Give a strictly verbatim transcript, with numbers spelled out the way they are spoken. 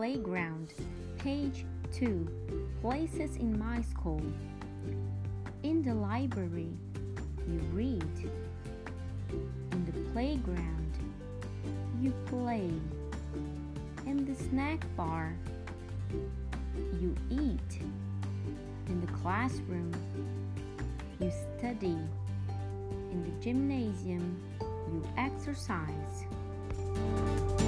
playground. Page two. Places in my school. In the library, you read. In the playground, you play. In the snack bar, you eat. In the classroom, you study. In the gymnasium, you exercise.